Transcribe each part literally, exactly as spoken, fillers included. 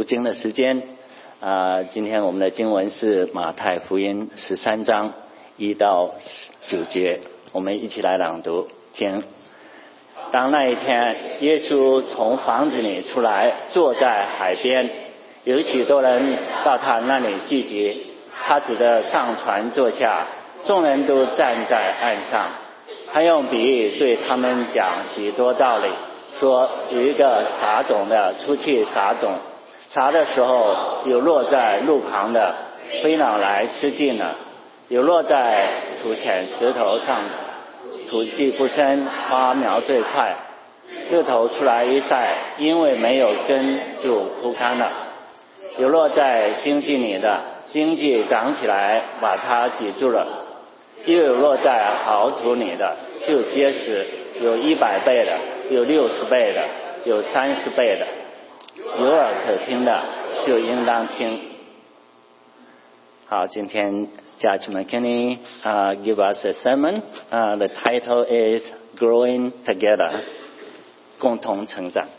经的时间。啊，今天我们的经文是马太福音十三章一到九节，我们一起来朗读经。当那一天，耶稣从房子里出来，坐在海边，有许多人到他那里聚集，他只得上船坐下，众人都站在岸上。他用比喻对他们讲许多道理，说有一个撒种的出去撒种，撒的时候有落在路旁的，飞鸟来吃尽了；有落在土浅石头上，土地不深，花苗最快，日头出来一晒，因为没有根就枯干了；有落在荆棘里的，荆棘长起来把它挤住了；又有落在好土里的，就结实，有一百倍的，有六十倍的，有三十倍的。有耳可听的就应当听。好，今天 Judge McKinney uh, give us a sermon. Uh, the title is Growing Together. 共同成长。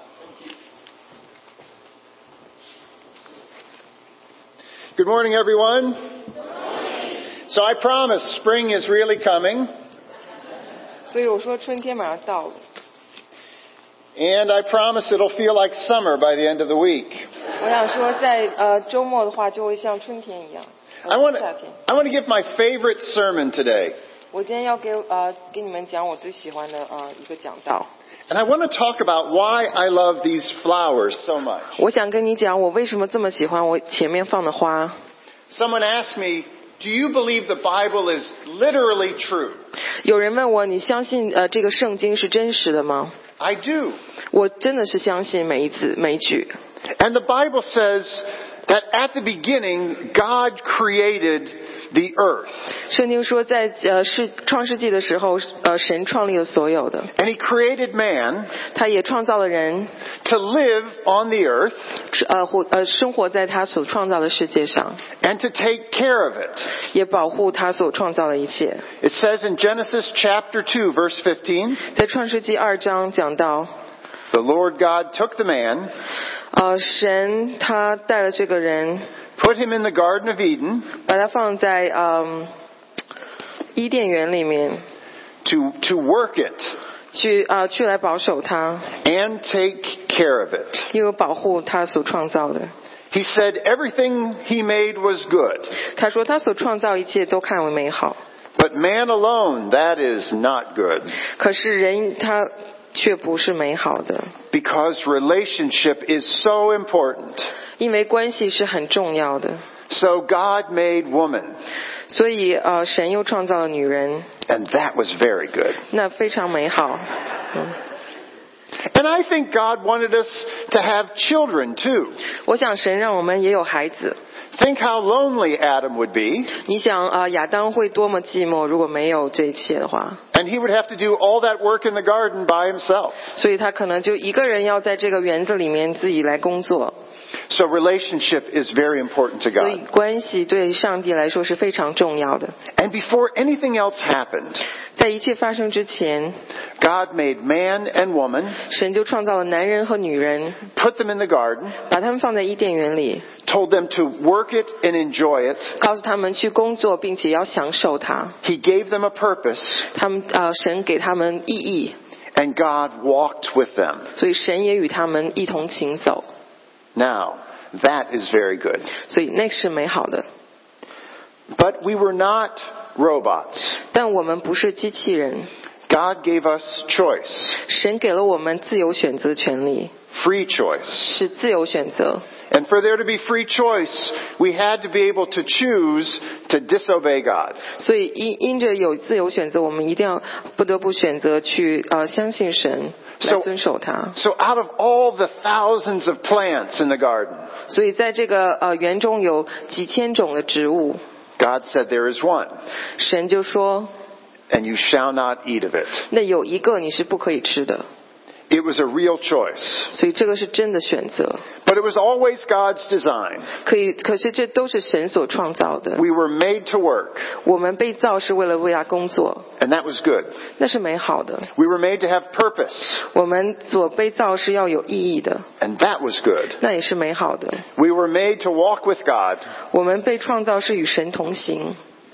Good morning, everyone. So I promise spring is really coming. 所以我说春天马上到了。 And I promise it'll feel like summer by the end of the week. 我想说在呃周末的话就会像春天一样。 I want to 夏天。 I want to give my favorite sermon today. 我今天要给呃给你们讲我最喜欢的呃一个讲道。 And I want to talk about why I love these flowers so much. 我想跟你讲我为什么这么喜欢我前面放的花。 Someone asked me, "Do you believe the Bible is literally true?" 有人问我你相信呃这个圣经是真实的吗？ I do. 我真的是相信每一字每一句。 And the Bible says that at the beginning God created the earth. 圣经说在呃是创世纪的时候呃神创立了所有的。 And he created man 他也创造了人 to live on the earth 呃活呃生活在他所创造的世界上， and to take care of it. 也保护他所创造的一切。 It says in Genesis chapter two verse fifteen, 在创世纪二章讲到 the Lord God took the man, 呃神他带了这个人 put him in the Garden of Eden 把他放在嗯伊甸园里面 to, to work it 去啊、呃、去来保守他， and take care of it. 因为保护他所创造的。 He said everything he made was good, 他说他所创造一切都看为美好， but man alone, that is not good, 可是人他却不是美好的， because relationship is so important. 因为关系是很重要的。 So God made woman, 所以呃神又创造了女人， and that was very good. 那非常美好。嗯 And I think God wanted us to have children too. 我想神让我们也有孩子。 Think how lonely Adam would be, 你想啊、呃、亚当会多么寂寞，如果没有这一切的话， and he would have to do all that work in the garden by himself. 所以他可能就一个人要在这个园子里面自己来工作。 So relationship is very important to 所以 God. 关系对上帝来说是非常重要的。 And before anything else happened, 在一切发生之前， God made man and woman, 神就创造了男人和女人， put them in the garden, 把他们放在伊甸园里， told them to work it and enjoy it. 告诉他们去工作，并且要享受它。 He gave them a purpose, 他们啊、呃神给他们意义， and God walked with them. 所以神也与他们一同行走。 Now, that is very good. 所以那是美好的。 But we were not robots. 但我们不是机器人， God gave us choice, 神给了我们自由选择权利， free choice. 是自由选择。 And for there to be free choice, we had to be able to choose to disobey God. 所以因因着有自由选择，我们一定要不得不选择去呃相信神，来 So- 遵守他。 So out of all the thousands of plants in the garden, 所以在这个呃园中有几千种的植物， God said there is one, 神就说 and you shall not eat of it. 那有一个你是不可以吃的。 It was a real choice. 所以这个是真的选择。 But it was always God's design. 可以，可是这都是神所创造的。 We were made to work. 我们被造是为了为他工作， And that was good. 那是美好的。 We were made to have purpose. 我们所被造是要有意义的， And that was good. 那也是美好的。 We were made to walk with God. 我们被创造是与神同行，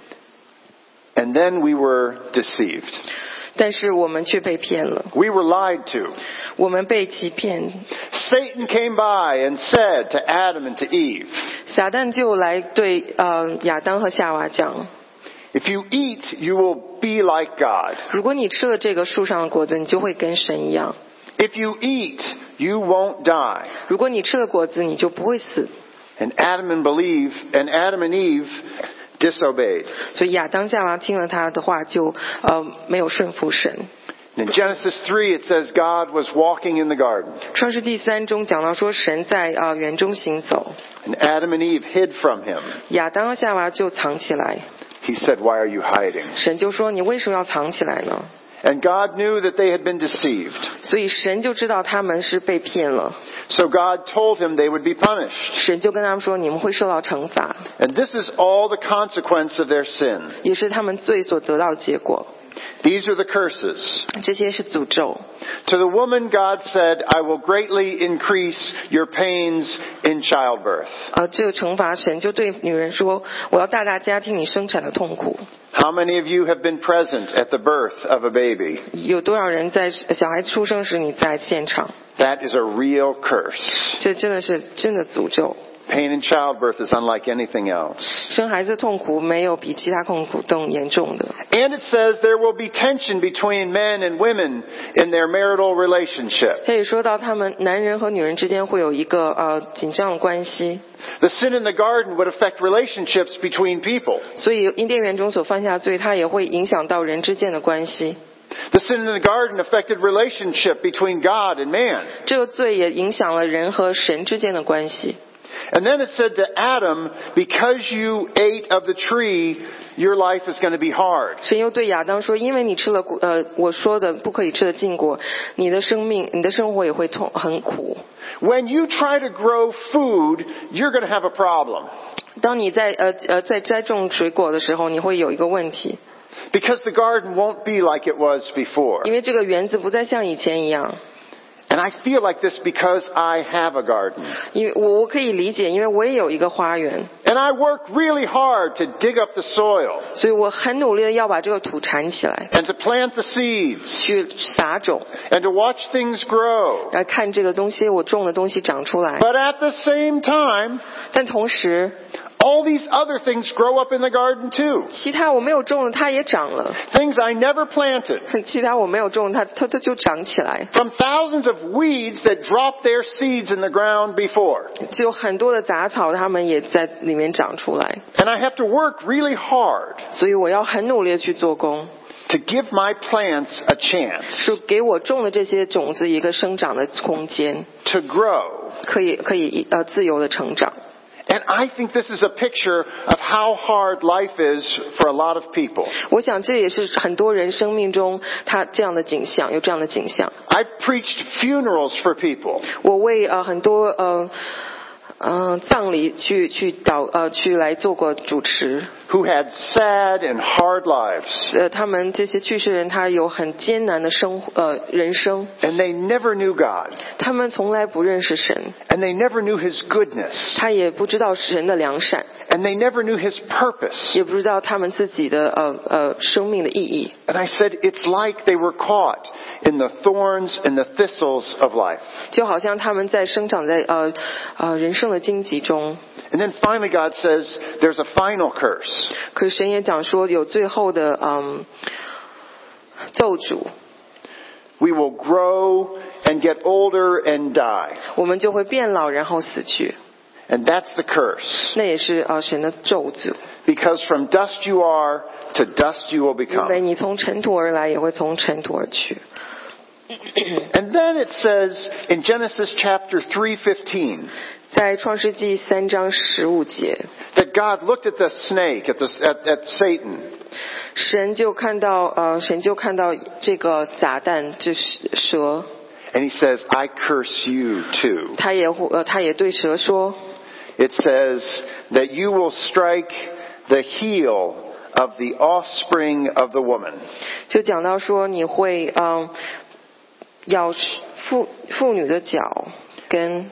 And then we were deceived. 但是我们却被骗了， We were lied to. 我们被欺骗。 Satan came by and said to Adam and to Eve, 撒旦就来对呃亚当和夏娃讲， if you eat, you will be like God. 如果你吃了这个树上的果子，你就会跟神一样； If you eat, you won't die. 如果你吃了果子，你就不会死。 And Adam and believe, and Adam and Eve disobeyed. 所以亚当夏娃听了他的话就，呃没有顺服神。 In Genesis three, it says God was walking in the garden. 创世纪三中讲到说，神在呃园中行走， And Adam and Eve hid from him. 亚当和夏娃就藏起来。 He said, why are you hiding? 神就说：“你为什么要藏起来呢？” And God knew that they had been deceived. 所以神就知道他们是被骗了， So God told him they would be punished. 神就跟他们说：“你们会受到惩罚。 And this is all the consequence of their sin. ” 也是他们罪所得到的结果。 These are the curses. 这些是诅咒。 To the woman, God said, I will greatly increase your pains in childbirth. 呃，这个惩罚神就对女人说：“我要大大加添你生产的痛苦。 How many of you have been present at the birth of a baby? ” 有多少人在小孩出生时你在现场？ That is a real curse. 这真的是真的诅咒。 Pain in childbirth is unlike anything else. 生孩子痛苦没有比其他痛苦更严重的。 And it says there will be tension between men and women in their marital relationship. 他也说到他们男人和女人之间会有一个呃紧张的关系。 The sin in the garden would affect relationships between people. 所以伊甸园中所犯下的罪，它也会影响到人之间的关系。 The sin in the garden affected relationship between God and man. 这个罪也影响了人和神之间的关系。 And then it said to Adam, because you ate of the tree, your life is going to be hard. 神又对亚当说：“因为你吃了呃我说的不可以吃的禁果，你的生命、你的生活也会痛很苦。 When you try to grow food, you're going to have a problem. 当你在呃呃在栽种水果的时候，你会有一个问题， Because the garden won't be like it was before. 因为这个园子不再像以前一样。 And I feel like this because I have a garden. 因为我我可以理解，因为我也有一个花园， And I work really hard to dig up the soil 所以我很努力的要把这个土铲起来， and to plant the seeds 去撒种， and to watch things grow. 来看这个东西我种的东西长出来。 But at the same time, 但同时， all these other things grow up in the garden too. 其他我没有种的它也长了， Things I never planted. 其他我没有种它它它就长起来。 From thousands of weeds that drop their seeds in the ground before. 就有很多的杂草，它们也在里面长出来， And I have to work really hard 所以我要很努力的去做工， to give my plants a chance 是给我种的这些种子一个生长的空间， to grow. 可以可以呃自由的成长。 And I think this is a picture of how hard life is for a lot of people. 我想这也是很多人生命中他这样的景象，有这样的景象。 I've preached funerals for people 我为呃很多呃呃葬礼去去导呃去来做过主持， who had sad and hard lives. 呃他们这些去世人他有很艰难的生呃人生， And they never knew God. 他们从来不认识神， And they never knew His goodness. 他也不知道神的良善， And they never knew His purpose. 也不知道他们自己的呃呃生命的意义。 And I said, it's like they were caught in the thorns and the thistles of life. 就好像他们在生长在呃呃人生的荆棘中。 And then finally God says, there's a final curse. 可是神也讲说有最后的嗯咒诅， We will grow and get older and die. 我们就会变老然后死去， And that's the curse. 那也是呃神的咒诅。 Because from dust you are, to dust you will 因为 become. 你从尘土而来，也会从尘土而去。 And then it says in Genesis chapter three fifteen, 在创世纪三章十五节， that God looked at the snake, at, the, at, at Satan, 神就看到呃神就看到这个撒旦，就是蛇， And he says, I curse you too. 他也呃他也对蛇说 It says that you will strike the heel of the offspring of the woman. 就讲到说你会嗯咬妇妇女的脚跟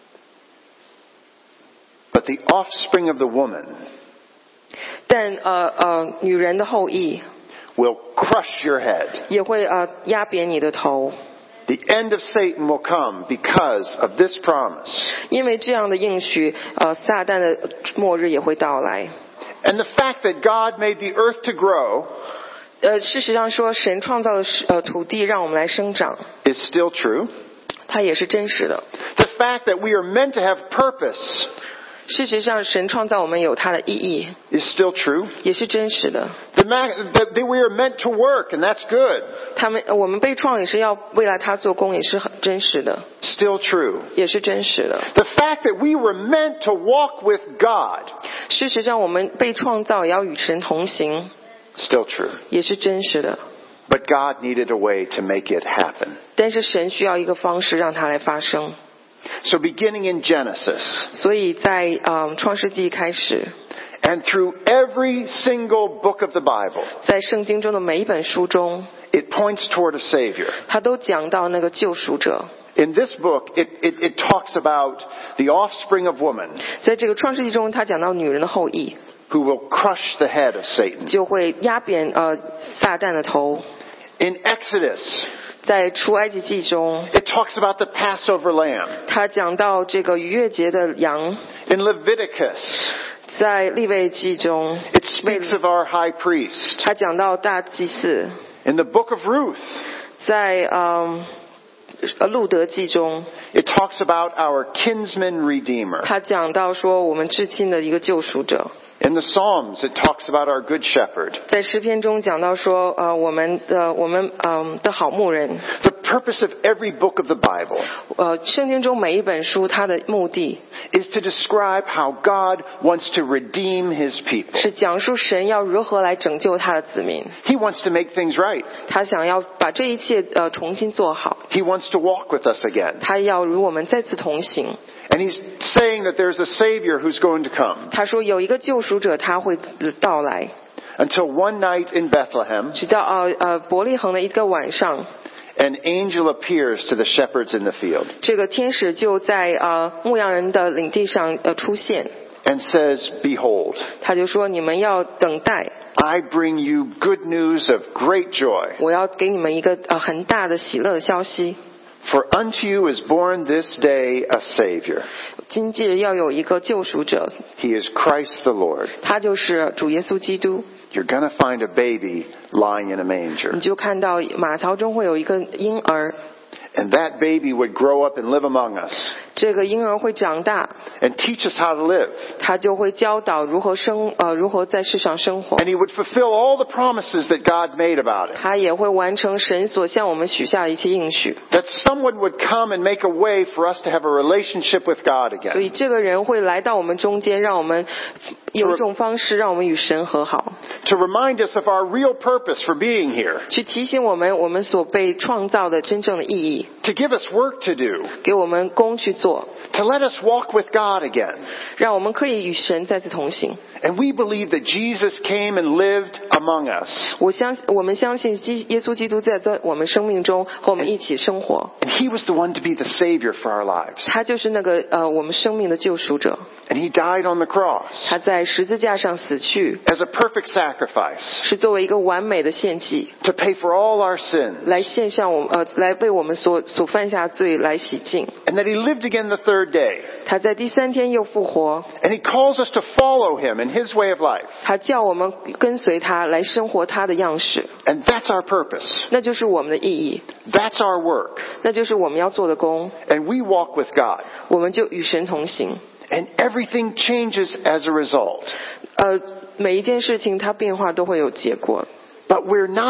But the offspring of the woman 但呃呃女人的后裔 will crush your head. 也会呃压扁你的头， The end of Satan will come because of this promise. 因为这样的应许，呃，撒旦的末日也会到来。 And the fact that God made the earth to grow 呃，事实上说，神创造的呃土地让我们来生长， is still true. 它也是真实的。 The fact that we are meant to have purpose 事实上，神创造我们有它的意义， is still true. 也是真实的。 The ma- that that we are meant to work, and that's good. 他们我们被创也是要为了他做工，也是很真实的， Still true. 也是真实的。 The fact that we were meant to walk with God, 事实上，我们被创造也要与神同行， still true. 也是真实的。 But God needed a way to make it happen. 但是神需要一个方式让它来发生。 So beginning in Genesis, 所以在嗯创世纪开始， and through every single book of the Bible, 在圣经中的每一本书中， it points toward a Savior. 他都讲到那个救赎者。 In this book, it, it, it talks about the offspring of woman 在这个创世纪中，他讲到女人的后裔 who will crush the head of Satan. 就会压扁呃撒旦的头。 In Exodus, 在出埃及记中， it talks about the Passover lamb. 他讲到这个逾越节的羊。 In Leviticus, 在利未记中， it speaks of our high priest. 他讲到大祭司。 In the book of Ruth, 在嗯呃路德记中， it talks about our kinsman redeemer. 他讲到说我们至亲的一个救赎者。 In the Psalms, it talks about our good shepherd. 在诗篇中讲到说，呃，我们的我们嗯、的好牧人。 The purpose of every book of the Bible 呃，圣经中每一本书，它的目的 is to describe how God wants to redeem his people. 是讲述神要如何来拯救他的子民。 He wants to make things right. 他想要把这一切呃重新做好， He wants to walk with us again. 他要与我们再次同行。 And he's saying that there's a Savior who's going to come. 他说有一个救赎者，他会到来。 Until one night in Bethlehem, 直到呃呃伯利恒的一个晚上， an angel appears to the shepherds in the field 这个天使就在呃牧羊人的领地上呃出现， and says, Behold, 他就说你们要等待， I bring you good news of great joy. 我要给你们一个呃很大的喜乐的消息。 For unto you is born this day a Savior. 今日要有一个救赎者， He is Christ the Lord. 他就是主耶稣基督。 You're going to find a baby lying in a manger. 你就看到马槽中会有一个婴儿， And that baby would grow up and live among us 这个婴儿会长大， and teach us how to live. 他就会教导如何生呃如何在世上生活， And he would fulfill all the promises that God made about it. 他也会完成神所向我们许下的一切应许。 That someone would come and make a way for us to have a relationship with God 所以 again. 这个人会来到我们中间，让我们有一种方式让我们与神和好， To remind us of our real purpose for being here. 去提醒我们我们所被创造的真正的意义， To give us work to do. 给我们工去做， To let us walk with God again. 让我们可以与神再次同行。 And we believe that Jesus came and lived among us. 我相我们相信基耶稣基督在在我们生命中和我们一起生活， And he was the one to be the Savior for our lives. 他就是那个呃我们生命的救赎者。 And he died on the cross 他在十字架上死去， as a perfect sacrifice 是作为一个完美的献祭， to pay for all our sins. 来献上我呃来为我们所所犯下罪来洗净。 And that he lived again the third day. 他在第三天又复活， And he calls us to follow him in his way of life. 他叫我们跟随他来生活他的样式， And that's our purpose. 那就是我们的意义， That's our work. 那就是我们要做的工。 And we walk with God. 我们就与神同行。 And everything changes as a result. 呃，每一件事情它变化都会有结果， But we're not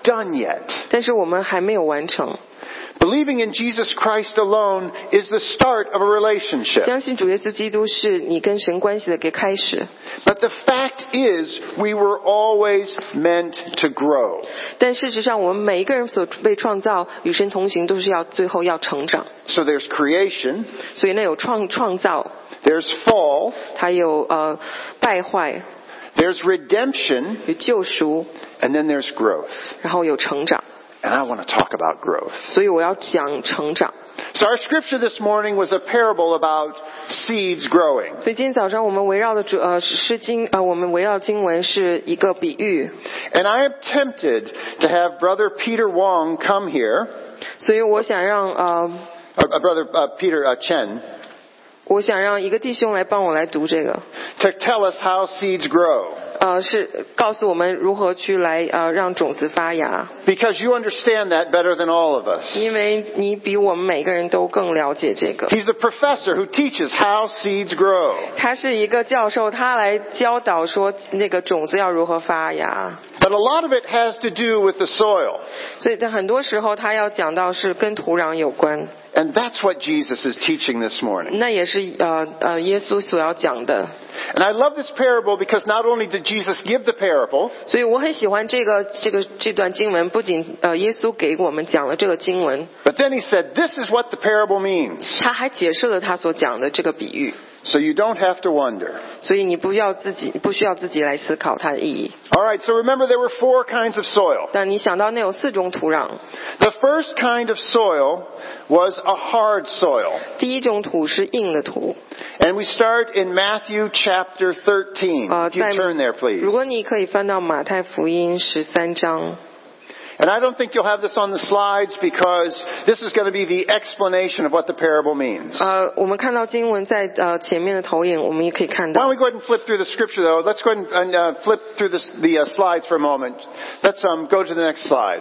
done yet. 但是我们还没有完成。 Believing in Jesus Christ alone is the start of a relationship. 相信主耶稣基督是你跟神关系的一个开始。 But the fact is, we were always meant to grow. 但事实上，我们每一个人所被创造与神同行，都是要最后要成长。 So there's creation. 所以呢，有创创造， There's fall. 它有呃败坏， There's redemption. 有救赎， And then there's growth. 然后有成长。 And I want to talk about growth. 所以我要讲成长。 So our scripture this morning was a parable about seeds growing. 所以今天早上我们围绕的主呃诗经呃我们围绕经文是一个比喻。 And I am tempted to have Brother Peter Wong come here. 所以我想让呃 Uh, Brother uh, Peter uh, Chen. 我想让一个弟兄来帮我来读这个， To tell us how seeds grow. 呃，是告诉我们如何去来呃让种子发芽， Because you understand that better than all of us. 因为你比我们每个人都更了解这个。 He's a professor who teaches how seeds grow. 他是一个教授，他来教导说那个种子要如何发芽。 But a lot of it has to do with the soil. 所以在很多时候他要讲到是跟土壤有关， And that's what Jesus is teaching this morning. 那也是呃呃耶稣所要讲的。 And I love this parable because not only did Jesus give the parable, 所以我很喜欢这个这个这段经文，不仅呃耶稣给我们讲了这个经文， but then he said, this is what the parable means. 他还解释了他所讲的这个比喻。 So you don't have to wonder. 所以你不要自己不需要自己来思考它的意义。 All right, so remember there were four kinds of soil. 但你想到那有四种土壤， The first kind of soil was a hard soil. 第一种土是硬的土。 And we start in Matthew chapter thirteen. 呃， If you 在 turn there, please. 如果你可以翻到马太福音十三章。 And I don't think you'll have this on the slides because this is going to be the explanation of what the parable means. 呃，我们看到经文在呃前面的投影，我们也可以看 Why 到。 don't we go ahead and flip through the scripture, though? Let's go ahead and, and uh, flip through this, the uh, slides for a moment. Let's um, go to the next slide.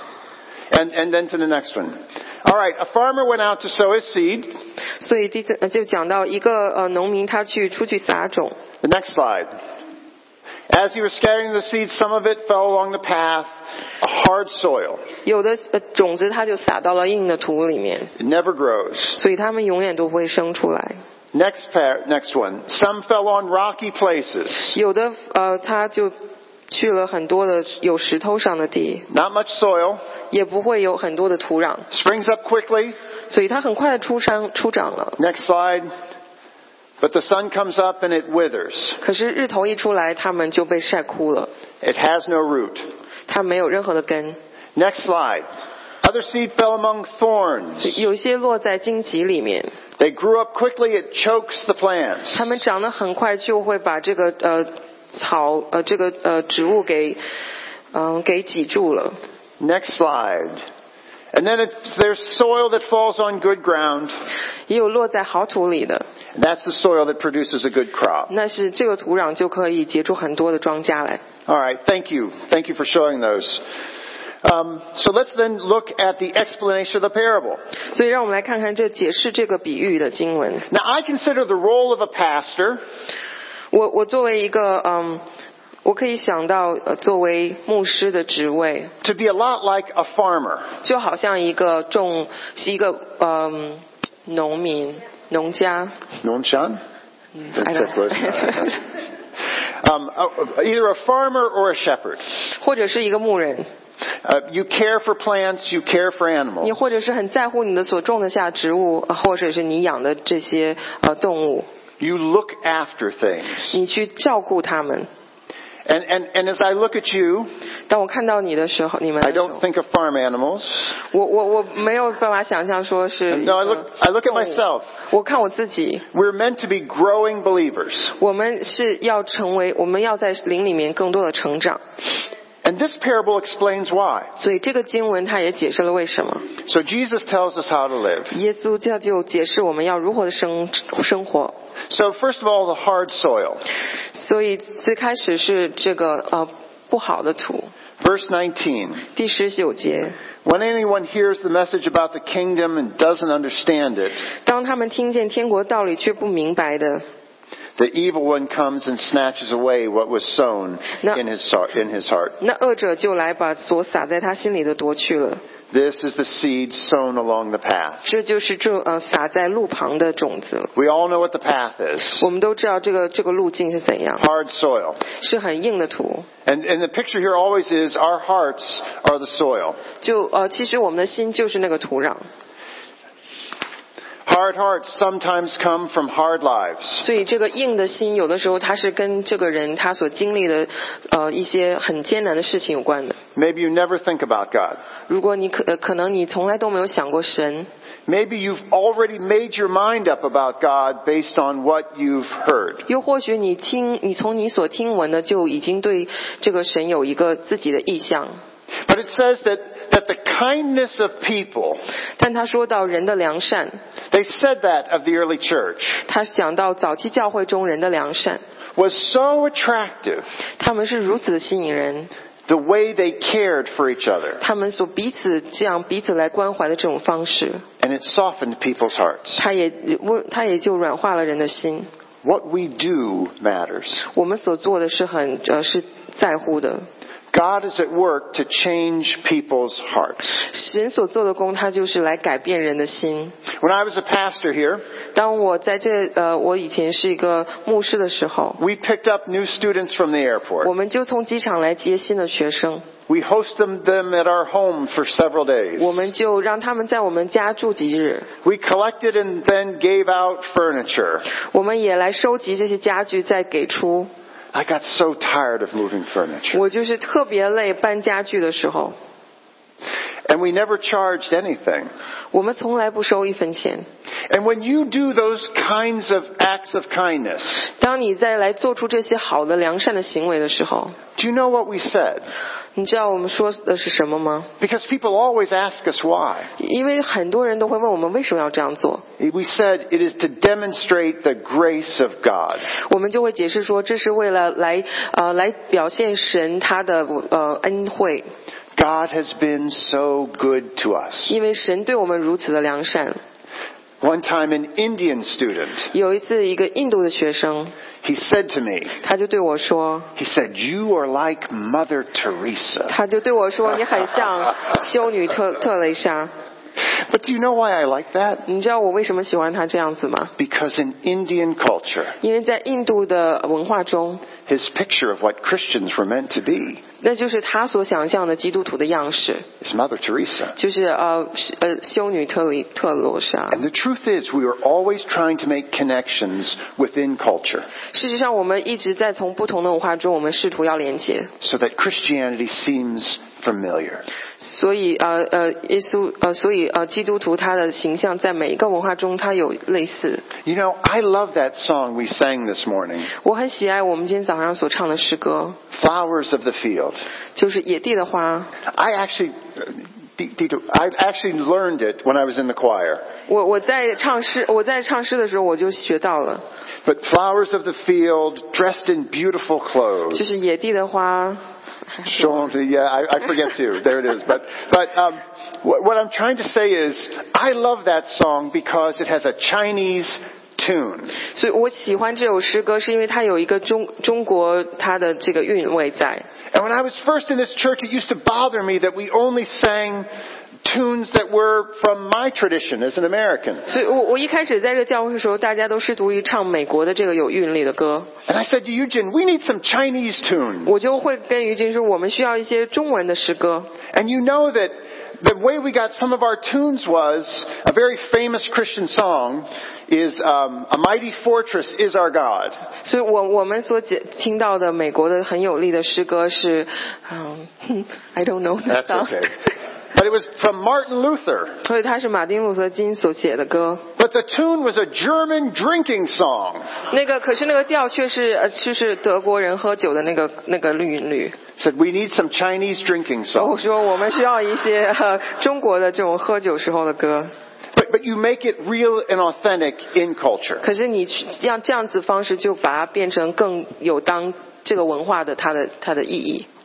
And, and then to the next one. All right, a farmer went out to sow his seed. 所以第四呃就讲到一个呃农民他去出去撒种。 The next slide. As he was scattering the seed, some of it fell along the path, a hard soil. 有的呃种子它就撒到了硬的土里面， It never grows. 所以它们永远都不会生出来。 Next, par- next one. Some fell on rocky places. 有的呃它就去了很多的有石头上的地， Not much soil. 也不会有很多的土壤， Springs up quickly. 所以它很快的出生出长了。 Next slide. But the sun comes up and it withers. 可是日头一出来，它们就被晒枯了， It has no root. 它没有任何的根。 Next slide. Other seed fell among thorns. 有些落在荆棘里面， They grew up quickly. It chokes the plants. 它们长得很快，就会把这个呃草呃这个呃植物给嗯、呃、给挤住了。 Next slide. And then it's, there's soil that falls on good ground. 也有落在好土里的， And that's the soil that produces a good crop. 那是这个土壤就可以结出很多的庄稼来。 All right. Thank you. Thank you for showing those. Um, so let's then look at the explanation of the parable. 所以让我们来看看这解释这个比喻的经文。 Now, I consider the role of a pastor 我我作为一个嗯，我可以想到呃作为牧师的职位， to be a lot like a farmer. 就好像一个种是一个嗯农民农家。 Nonshan? I don't know. um, uh, either a farmer or a shepherd. 或者是一个牧人， Uh, you care for plants, you care for 你 animals. 或者是很在乎你的所种的下植物，呃或者是你养的这些呃动物， You look after things. 你去照顾它们。 And, and, and as I look at you, 当我看到你的时候，你们 I don't think of farm animals. 我我我没有办法想象说是 No, I look, I look at 动物 myself. 我看我自己， We're meant to be growing believers. 我们是要成为，我们要在灵里面更多的成长。 And this parable explains why. 所以这个经文它也解释了为什么。 So Jesus tells us how to live. 耶稣就就解释我们要如何的生生活。 So first of all, the hard soil. 所以最开始是这个呃不好的土。 Verse nineteen. 第十九节， When anyone hears the message about the kingdom and doesn't understand it, 当他们听见天国道理却不明白的， the evil one comes and snatches away what was sown in his heart. In his heart. 那恶者就来把所撒在他心里的夺去了。 This is the seed sown along the path. 这就是这呃撒在路旁的种子。 We all know what the path is. 我们都知道这个这个路径是怎样， Hard soil. 是很硬的土。 And, and the picture here always is our hearts are the soil. 就呃，其实我们的心就是那个土壤。 Hard hearts sometimes come from hard lives. 所以这个硬的心，有的时候它是跟这个人他所经历的呃一些很艰难的事情有关的。 Maybe you never think about God. 如果你可、呃、可能你从来都没有想过神。 Maybe you've already made your mind up about God based on what you've heard. 又或许你听，你从你所听闻的就已经对这个神有一个自己的意向。 But it says that that the kindness of people. 但他说到人的良善。 They said that of the early church. 他讲到早期教会中人的良善。 Was so attractive. 他们是如此的吸引人。 The way they cared for each other. 他们所彼此这样彼此来关怀的这种方式。 And it softened people's hearts. 他也他也就软化了人的心。 What we do matters. 我们所做的是很呃是在乎的。 God is at work to change people's hearts. 神所做的工，他就是来改变人的心。 When I was a pastor here, 当我在这呃，我以前是一个牧师的时候 we picked up new students from the airport. 我们就从机场来接新的学生。 We host them, them at our home for several days. 我们就让他们在我们家住几日。 We collected and then gave out furniture. 我们也来收集这些家具，再给出。 I got so tired of moving furniture. 我就是特别累搬家具的时候。 And we never charged anything. 我们从来不收一分钱。 And when you do those kinds of acts of kindness, 当你在来做出这些好的良善的行为的时候 do you know what we said? 你知道我们说的是什么吗？ Because people always ask us why. 因为很多人都会问我们为什么要这样做。 We said it is to demonstrate the grace of God. 我们就会解释说，这是为了来呃来表现神他的呃恩惠。 God has been so good to us. 因为神对我们如此的良善。 One time an Indian student, 有一次一个印度的学生 he said to me, 他就对我说 he said, you are like Mother Teresa. 他就对我说你很像修女特特蕾莎。 But do you know why I like that? 你知道我为什么喜欢他这样子吗？ Because in Indian culture, 因为在印度的文化中 his picture of what Christians were meant to be 那就是他所想象的基督徒的样式， is Mother Teresa. 就是呃呃修女特里特罗莎。 And the truth is, we are always trying to make connections within culture 事实上，我们一直在从不同的文化中，我们试图要连接， so that Christianity seems familiar. 所以呃呃耶稣呃所以呃基督徒他的形象在每一个文化中他有类似。 You know, I love that song we sang this morning, 我很喜爱我们今天早上所唱的诗歌， Flowers of the Field. 就是野地的花。 I actually, I've actually learned it when I was in the choir. 我我在唱诗我在唱诗的时候我就学到了， But flowers of the field, dressed in beautiful 就 clothes. 是野地的花。 Show them, yeah, I, I forget too. There it is. But, but um, what, what I'm trying to say is, I love that song because it has a Chinese tune. 所以我喜欢这首诗歌，是因为它有一个中中国它的这个韵味在。 And when I was first in this church, it used to bother me that we only sang tunes that were from my tradition as an American. 所以我我一开始在这个教会的时候，大家都试图于唱美国的这个有韵律的歌。 And I said to Eugene, we need some Chinese tunes. 我就会跟于金说，我们需要一些中文的诗歌。 And you know that the way we got some of our tunes was a very famous Christian song is um, A Mighty Fortress is Our God. 所以我我们所解听到的美国的很有力的诗歌是，嗯、I don't know that That's song. okay. But it was from Martin Luther. 所以它是马丁路德金所写的歌。 But the tune was a German drinking song. 那个可是那个调却是呃就是德国人喝酒的那个那个韵律。 Said we need some Chinese drinking 我 songs. 说我们需要一些呃中国的这种喝酒时候的歌。 But, but you make it real and authentic in culture. 可是你要这样子方式就把它变成更有当这个文化的它的它的意义。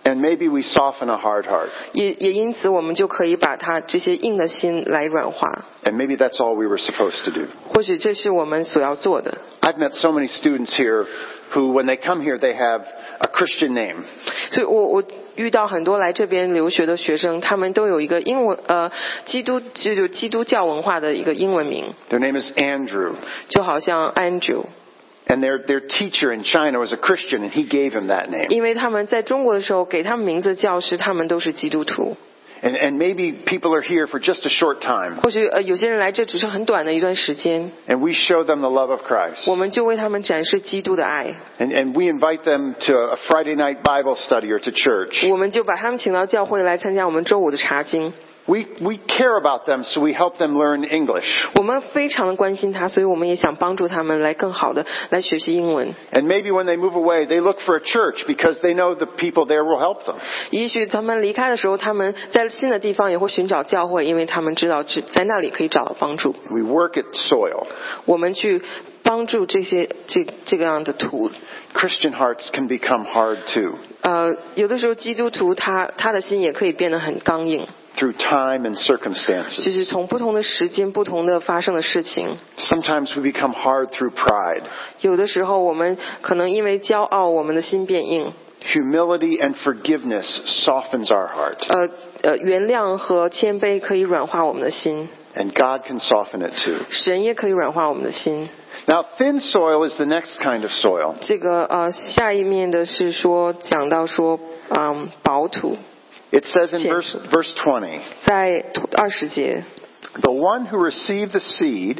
And maybe we soften a hard heart. 也也因此我们就可以把它这些硬的心来软化。 And maybe that's all we were supposed to do. 或许这是我们所要做的。 I've met so many students here who, when they come here, they have a Christian name. 所以我我遇到很多来这边留学的学生，他们都有一个英文呃基督就是基督教文化的一个英文名， Their name is Andrew. 就好像 Andrew。 And their, their teacher in China was a Christian, and he gave him that name. 因为他们在中国的时候给他们名字的教师，他们都是基督徒。 And, and maybe people are here for just a short time, 或许呃有些人来这只是很短的一段时间， and we show them the love of Christ. 我们就为他们展示基督的爱， And, and we invite them to a Friday night Bible study or to church. 我们就把他们请到教会来参加我们周五的查经。 We, we care about them, so we help them learn English. 我们非常的关心他，所以我们也想帮助他们来更好的来学习英文。 And maybe when they move away, they look for a church because they know the people there will help them. 也许他们离开的时候，他们在新的地方也会寻找教会，因为他们知道只在那里可以找到帮助。 We work at soil. 我们去帮助这些这这个样的土。 Christian hearts can become hard too, 呃，有的时候基督徒他他的心也可以变得很刚硬， through time and 就 circumstances. 是从不同的时间、不同的发生的事情。 Sometimes we become hard through pride. 有的时候我们可能因为骄傲，我们的心变硬。 Humility and forgiveness softens our heart. 呃呃，原谅和谦卑可以软化我们的心， And God can soften it too. 神也可以软化我们的心。 Now, thin soil is the next kind of soil. 这个呃，下一面的是说讲到说，嗯，薄土， It says in verse, verse twenty, 在二十节， the one who received the seed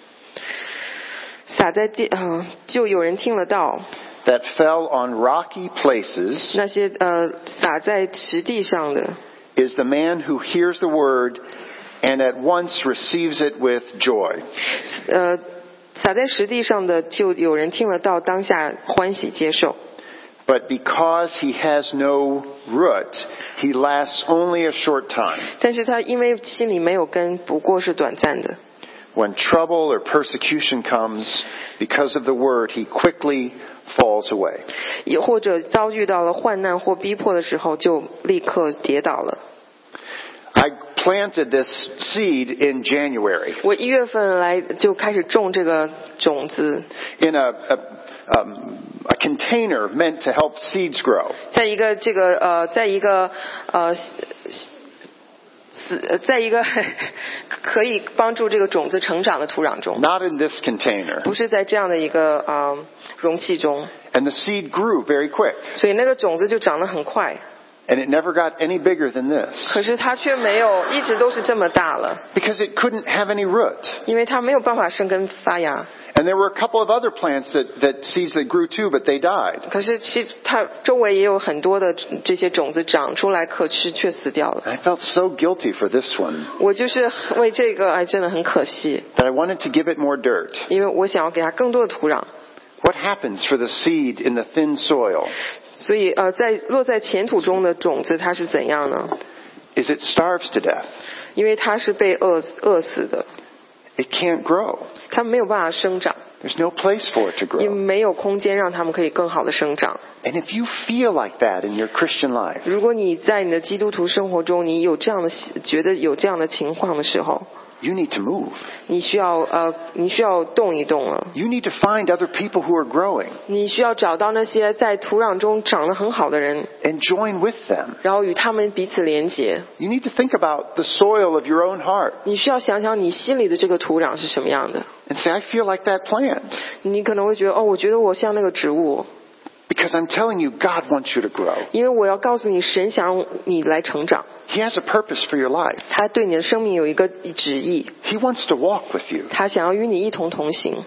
撒在地，呃，就有人听了道， that fell on rocky places 那些呃撒在石地上的， is the man who hears the word and at once receives it with joy. 呃，撒在石地上的，就有人听了道，当下欢喜接受。 But because he has no root, he lasts only a short time. 但是他因为心里没有根，不过是短暂的。 When trouble or persecution comes because of the word, he quickly falls away. 也或者遭遇到了患难或逼迫的时候，就立刻跌倒了。 I planted this seed in January 我一月份来就开始种这个种子， in a, a, um, a container meant to help seeds grow. 在一个这个呃，在一个呃。死在一个可以帮助这个种子成长的土壤中， Not in this container. 不是在这样的一个呃容器中， And the seed grew very quick. 所以那个种子就长得很快。 And it never got any bigger than this 可是它却没有一直都是这么大了， because it couldn't have any root. 因为它没有办法生根发芽。 And there were a couple of other plants that, that seeds that grew too, but they died. 可是其它周围也有很多的这些种子长出来可吃，却死掉了。 I felt so guilty for this one 我就是为这个，哎，真的很可惜， that I wanted to give it more dirt. 因为我想要给它更多的土壤。 What happens for the seed in the thin soil? 所以呃，在落在浅土中的种子，它是怎样呢？ Is it starves to death? 因为它是被饿饿死的， It can't grow. 它没有办法生长， There's no place for it to 也 grow. 没有空间让它们可以更好的生长。 And if you feel like that in your Christian life, 如果你在你的基督徒生活中，你有这样的觉得有这样的情况的时候， you need to move. 你需要呃，你需要动一动了。 You need to find other people who are growing 你需要找到那些在土壤中长得很好的人， and join with them. 然后与他们彼此连结。 You need to think about the soil of your own heart 你需要想想你心里的这个土壤是什么样的。 and say, I feel like that plant. 你可能会觉得，哦，我觉得我像那个植物， Because I'm telling you, God wants you to grow. 因为我要告诉你，神想让你来成长， He has a purpose for your life. 他对你的生命有一个旨意， He wants to walk with you. 他想要与你一同同行。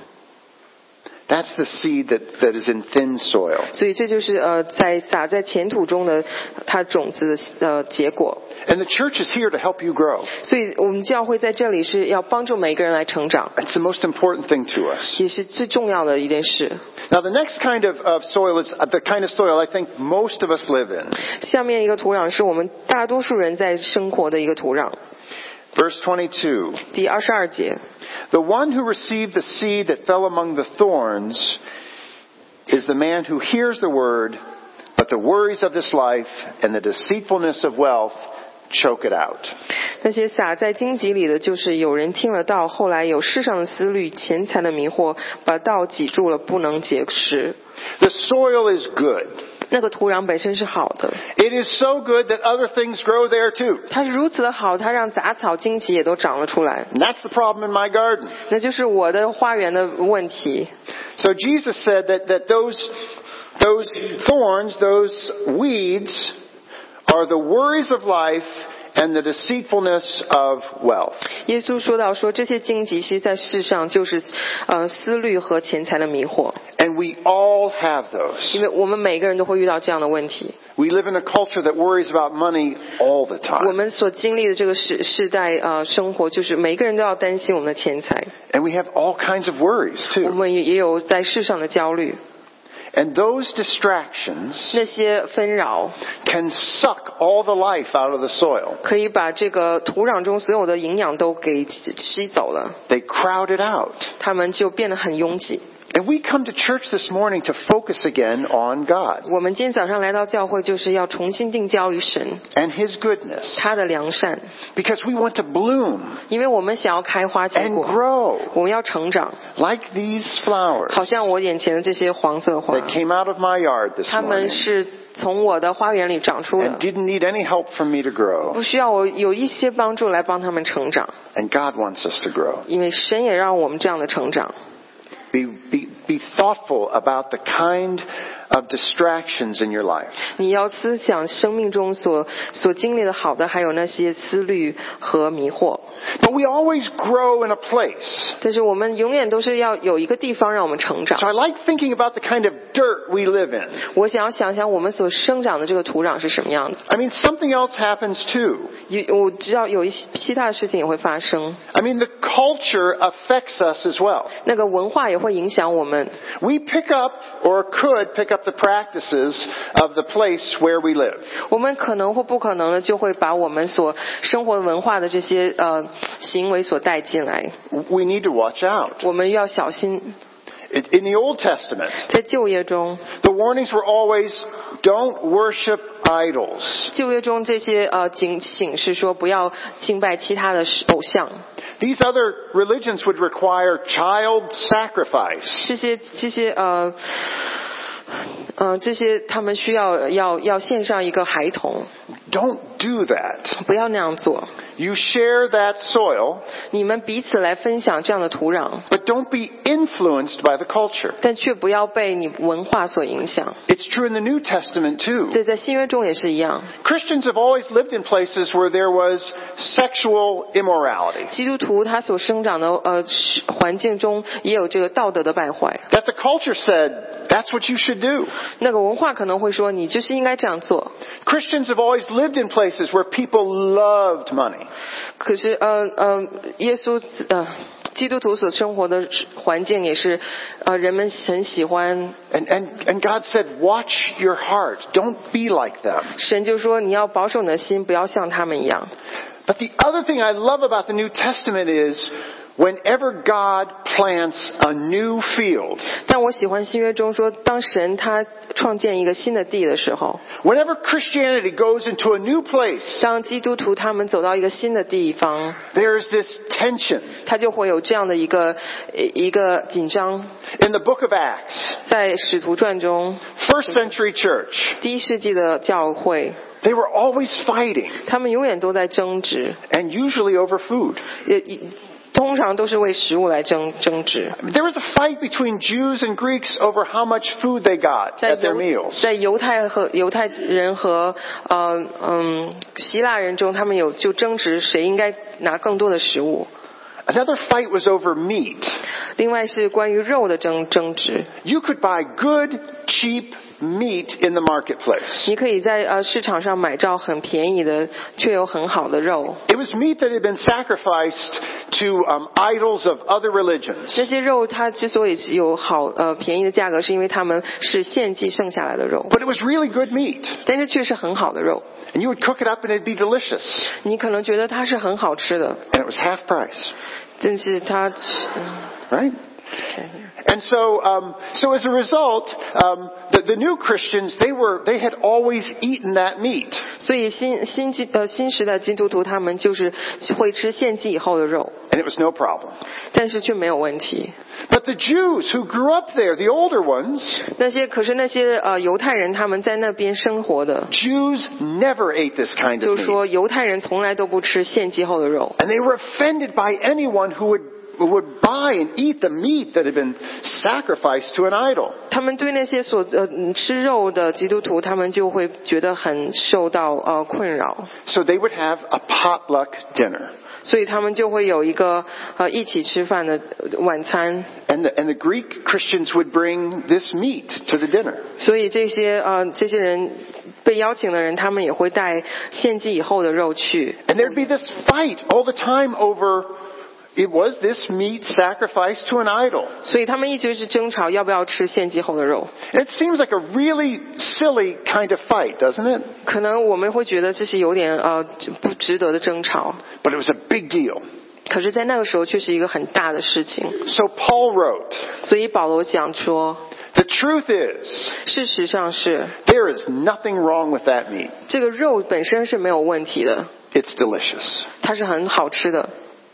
That's the seed that, that is in thin soil. 所以这就是呃，在撒在浅土中的它种子的呃结果。 And the church is here to help you grow. 所以我们教会在这里是要帮助每个人来成长， It's the most important thing to us. 也是最重要的一件事。 Now, the next kind of, of soil is the kind of soil I think most of us live in. 下面一个土壤是我们大多数人在生活的一个土壤。 Verse twenty-two. 第二十二节， The one who received the seed that fell among the thorns is the man who hears the word, But the worries of this life and the deceitfulness of wealth choke it out. 那些撒在荆棘里的，就是有人听了道，后来有世上的思虑、钱财的迷惑，把道挤住了，不能结实。 The soil is good. 那个土壤本身是好的， It is so good that other things grow there too. 它是如此的好，它让杂草、荆棘也都长了出来。 And that's the problem in my garden. 那就是我的花园的问题。 So Jesus said that, that those, those thorns, those weeds, are the worries of life and the deceitfulness of wealth. 耶稣说到说这些荆棘其实在世上就是呃思虑和钱财的迷惑， And we all have those. 因为我们每个人都会遇到这样的问题。 We live in a culture that worries about money all the 我 time. 们所经历的这个世世代呃生活，就是每个人都要担心我们的钱财， And we have all kinds of worries 我 too. 们也也有在世上的焦虑， And those distractions 那些纷扰 can suck all the life out of the soil. 可以把这个土壤中所有的营养都给吸走了， They crowd it out. 它们就变得很拥挤。 And we come to church this morning to focus again on God 我们今天早上来到教会，就是要重新定焦于神 and His goodness. 他的良善， Because we want to bloom 因为我们想要开花结 and 果， grow 我们要成长， like these flowers 好像我眼前的这些黄色花， that came out of my yard this 它们 morning 是从我的花园里长出 and 的， didn't need any help from me to grow. 不需要我有一些帮助来帮他们成长， And God wants us to grow. 因为神也让我们这样的成长。 Be, be, be thoughtful about the kind of distractions in your life. 你要思想生命中所所经历的好的，还有那些思虑和迷惑。 But we always grow in a place. 但是我们永远都是要有一个地方让我们成长 So。I like thinking about the kind of dirt we live in. 我想要想想我们所生长的这个土壤是什么样的。 I mean, something else happens too. 有我知道有一些其他的事情也会发生， I mean, the culture affects us as well. 那个文化也会影响我们。 We pick up or could pick up the practices of the place where we live. 我们可能或不可能的就会把我们所生活文化的这些呃行为所带进来， We need to watch out. 我们要小心。 In in the Old Testament, 在旧约中， the warnings were always, don't worship idols. 旧约中这些呃警醒是说不要敬拜其他的偶像， These other religions would require child sacrifice. 这些这些呃呃这些他们需要要要献上一个孩童， Don't do that. 不要那样做。 You share that soil, 你们彼此来分享这样的土壤， but don't be influenced by the culture. 但却不要被你文化所影响。 It's true in the New Testament too. 这在新约中也是一样。 Christians have always lived in places where there was sexual immorality. 基督徒他所生长的呃环境中也有这个道德的败坏。 That the culture said, that's what you should do. 那个文化可能会说你就是应该这样做。 Christians have always lived in places where people loved money. 可是呃呃，耶稣呃基督徒所生活的环境也是呃人们很喜欢。 And, and, and God said, watch your heart. Don't be like them. 神就说你要保守你的心，不要像他们一样。 But the other thing I love about the New Testament is whenever God plants a new field, 但我喜欢新约中说，当神他创建一个新的地的时候， whenever Christianity goes into a new place, 当基督徒他们走到一个新的地方， there's this tension. 他就会有这样的一个一个紧张。 In the book of Acts, 在使徒传中， first century church, 第一世纪的教会， they were always fighting, 他们永远都在争执， and usually over food. 也也通常都是为食物来争争执。 There was a fight between Jews and Greeks over how much food they got 在 at their 犹 meals. 在犹太和犹太人和呃嗯希腊人中，他们有就争执谁应该拿更多的食物。 Another fight was over meat. 另外是关于肉的争争执。 You could buy good, cheap meat in the marketplace. 你可以在呃市场上买到很便宜的，却有很好的肉。 It was meat that had been sacrificed to um, idols of other religions. 这些肉它之所以有好呃便宜的价格，是因为它们是献祭剩下来的肉， But it was really good meat. 但是却是很好的肉。 And you would cook it up and it'd be delicious. 你可能觉得它是很好吃的， And it was half price. 但是它，嗯 Right? And so, um, so as a result, um, the, the new Christians, they were, they had always eaten that meat. 所以新新基呃新时代基督徒他们就是会吃献祭以后的肉， And it was no problem. 但是却没有问题。 But the Jews who grew up there, the older ones, 那些可是那些呃犹太人他们在那边生活的， Jews never ate this kind 就 of 是 meat. 说犹太人从来都不吃献祭后的肉， And they were offended by anyone who would, who would buy and eat the meat that had been sacrificed to an idol. 他们对那些所呃吃肉的基督徒，他们就会觉得很受到呃困扰， So they would have a potluck dinner. 所以他们就会有一个呃一起吃饭的晚餐。 And the, and the Greek Christians would bring this meat to the dinner. 所以这些呃这些人被邀请的人，他们也会带献祭以后的肉去。 And there'd be this fight all the time over, it was this meat sacrificed to an idol. 所以他们一直是争吵要不要吃献祭后的肉。 And it seems like a really silly kind of fight, doesn't it? 可能我们会觉得这是有点呃不值得的争吵， But it was a big deal. 可是在那个时候却是一个很大的事情。 So Paul wrote, 所以保罗讲说， the truth is, 事实上是 there is nothing wrong with that meat. 这个肉本身是没有问题的， It's delicious. 它是很好吃的，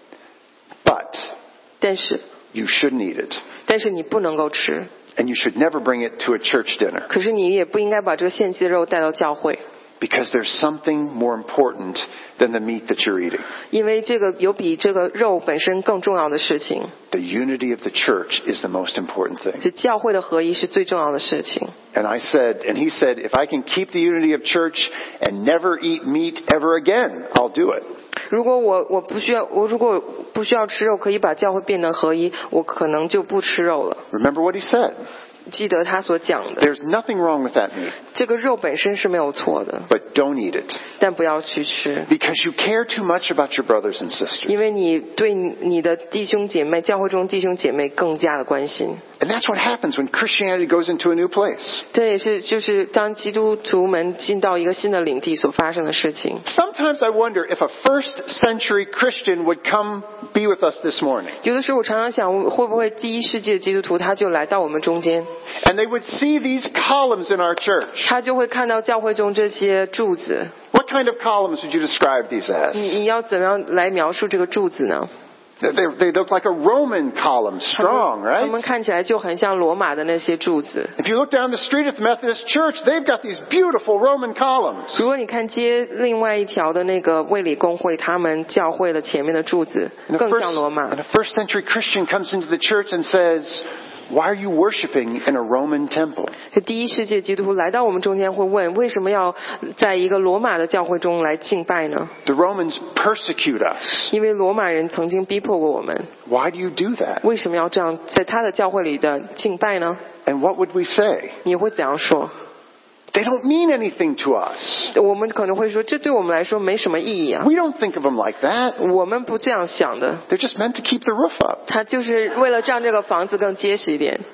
But 但是 you shouldn't eat it. 但是你不能够吃， And you should never bring it to a church dinner. 可是你也不应该把这个献祭的肉带到教会， Because there's something more important than the meat that you're eating. 因为这个有比这个肉本身更重要的事情， The unity of the church is the most important thing. 就教会的合一是最重要的事情。 And I said, and he said, if I can keep the unity of church and never eat meat ever again, I'll do it. 如果我我不需要我如果不需要吃肉，可以把教会变得合一，我可能就不吃肉了。 Remember what he said. 记得他所讲的， There's nothing wrong with that meat, 这个肉本身是没有错的， but don't eat it. 但不要去吃， Because you care too much about your brothers and sisters. 因为你对你的弟兄姐妹，教会中弟兄姐妹更加的关心。 And that's what happens when Christianity goes into a new place. 这也是就是当基督徒们进到一个新的领地所发生的事情。 Sometimes I wonder if a first century Christian would come be with us this morning. 有的时候我常常想，会不会第一世纪的基督徒他就来到我们中间， And they would see these columns in our church. 他就会看到教会中这些柱子。 What kind of columns would you describe these 你 as? 你要怎么样来描述这个柱子呢？ They, they look like a Roman column, 他们 strong, 他们 right? 看起来就很像罗马的那些柱子。 If you look down the street at the Methodist Church, they've got these beautiful Roman columns. 如果你看街另外一条的那个卫理公会，他们教会的前面的柱子 And a 更 first, 像罗马 and。a first century Christian comes into the church and says, why are you worshiping in a Roman temple? 第一世界基督徒来到我们中间会问，为什么要在一个罗马的教会中来敬拜呢？ The Romans persecute us. 因为罗马人曾经逼迫过我们， Why do you do that? 为什么要这样在他的教会里的敬拜呢？ And what would we say? 你会怎样说？ They don't mean anything to us. 我们可能会说，这对我们来说没什么意义啊， We don't think of them like that. 我们不这样想的。 They're just meant to keep the roof up. 他就是为了让这个房子更结实一点。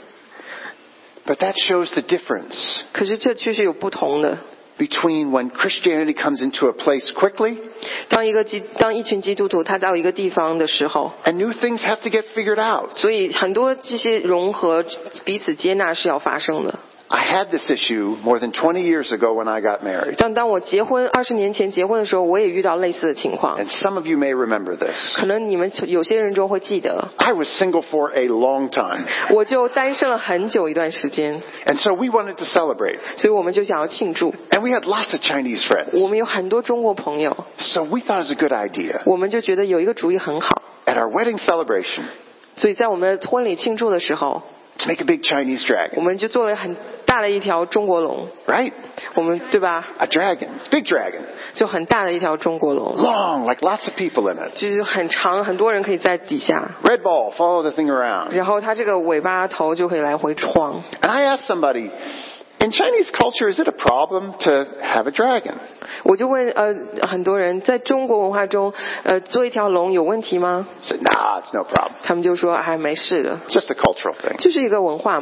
But that shows the difference 可是这确实有不同的。 between when Christianity comes into a place quickly 当一个基当一群基督徒他到一个地方的时候， and new things have to get figured out. 所以很多这些融合、彼此接纳是要发生的。 I had this issue more than twenty years ago when I got married. 当当我结婚二十年前结婚的时候，我也遇到类似的情况。 And some of you may remember this. 可能你们有些人中会记得， I was single for a long time. 我就单身了很久一段时间， And so we wanted to celebrate. 所以我们就想要庆祝。 And we had lots of Chinese friends. 我们有很多中国朋友， So we thought it was a good idea. 我们就觉得有一个主意很好， At our wedding celebration, 所以在我们的婚礼庆祝的时候， to make a big Chinese 我 dragon. 们就做了很大的一条中国龙， Right? 我们对吧？ A dragon. Big dragon. 就很大的一条中国龙， Long, like lots of people in it. 就是很长，很多人可以在底下， Red ball, follow the thing around. 然后它这个尾巴头就可以来回晃。 And I asked somebody, in Chinese culture, is it a problem to have a dragon? 我就问呃很多人，在中国文化中，呃做一条龙有问题吗？ I said, nah, it's no problem. 他们就说哎没事的， Just a cultural thing. 就是一个文化嘛。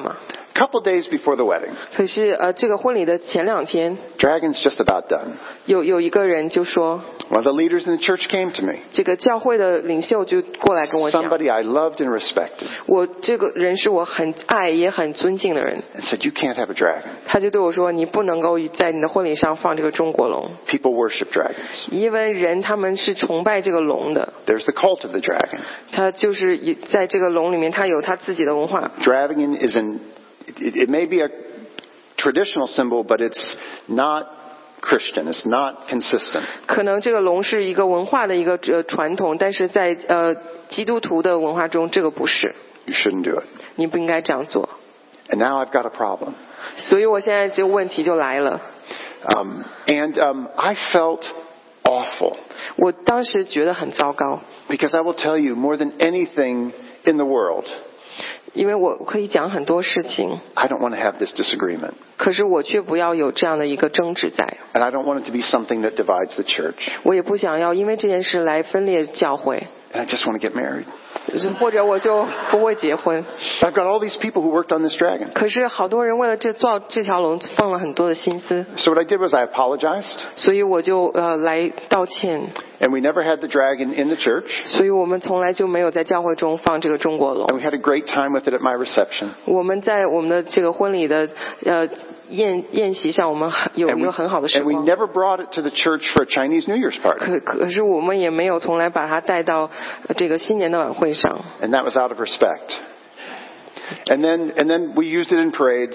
A couple days before the wedding, 可是呃，这个婚礼的前两天， dragon's just about done. 有有一个人就说， One of the leaders in the church came to me. 这个教会的领袖就过来跟我讲， Somebody I loved and respected. 我这个人是我很爱也很尊敬的人， And said, you can't have a dragon. 他就对我说，你不能够在你的婚礼上放这个中国龙， People worship dragons. 因为人他们是崇拜这个龙的， There's the cult of the dragon. 他就是以在这个龙里面，他有他自己的文化。 Dragon is an, it, it may be a traditional symbol, but it's not Christian. It's not consistent. 可能这个龙是一个文化的一个呃传统，但是在呃基督徒的文化中，这个不是， You shouldn't do it. 你不应该这样做。 And now I've got a problem. 所以我现在这个问题就来了， Um, and um, I felt awful 我当时觉得很糟糕， because I will tell you more than anything in the world, 因为我可以讲很多事情， I don't want to have this disagreement. 可是我却不要有这样的一个争执在， And I don't want it to be something that divides the church. 我也不想要因为这件事来分裂教会， And I just want to get married. 或者我就不会结婚。 But I've got all these people who worked on this dragon. 可是好多人为了这造这条龙放了很多的心思， So what I did was I apologized. 所以我就呃来道歉。 And we never had the dragon in the church. 所以我们从来就没有在教会中放这个中国龙。 And we had a great time with it at my reception. 我们在我们的这个婚礼的呃宴宴席上，我们有 And 一 we, 个很好的时 and we 光。 never brought it to the church for a Chinese New Year's party. 可可是我们也没有从来把它带到呃这个新年的晚会上。 And that was out of respect. And then, and then we used it in parades.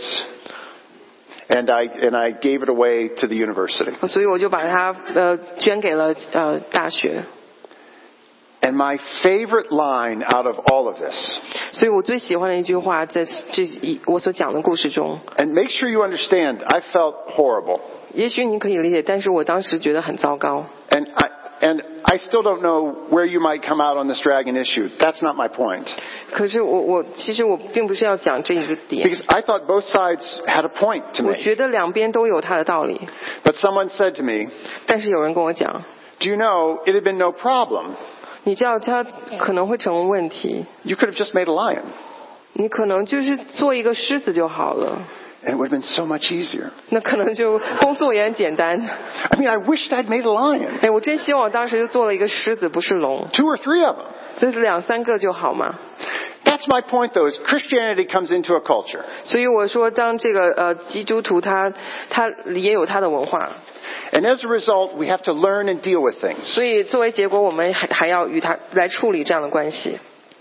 And I, and I gave it away to the university. 所以我就把它呃捐给了呃大学。 And my favorite line out of all of this, 所以我最喜欢的一句话，在这一我所讲的故事中， and make sure you understand, I felt horrible. 也许你可以理解，但是我当时觉得很糟糕。 And I, and I still don't know where you might come out on this dragon issue. That's not my point. 可是我我其实我并不是要讲这一个点， Because I thought both sides had a point to 我 me. 觉得两边都有它的道理。 But someone said to me, 但是有人跟我讲， do you know, it had been no problem. 你知道它可能会成为问题， You could have just made a lion. 你可能就是做一个狮子就好了， And it would have been so much easier. 那可能就工作也很简单。 I mean, I wished I'd made a lion. 哎，我真希望我当时就做了一个狮子，不是龙， Two or three of them. 这两三个就好嘛。 That's my point, though, is Christianity comes into a culture. 所以我说，当这个呃基督徒他他也有他的文化， And as a result, we have to learn and deal with things. 所以作为结果，我们还还要与他来处理这样的关系。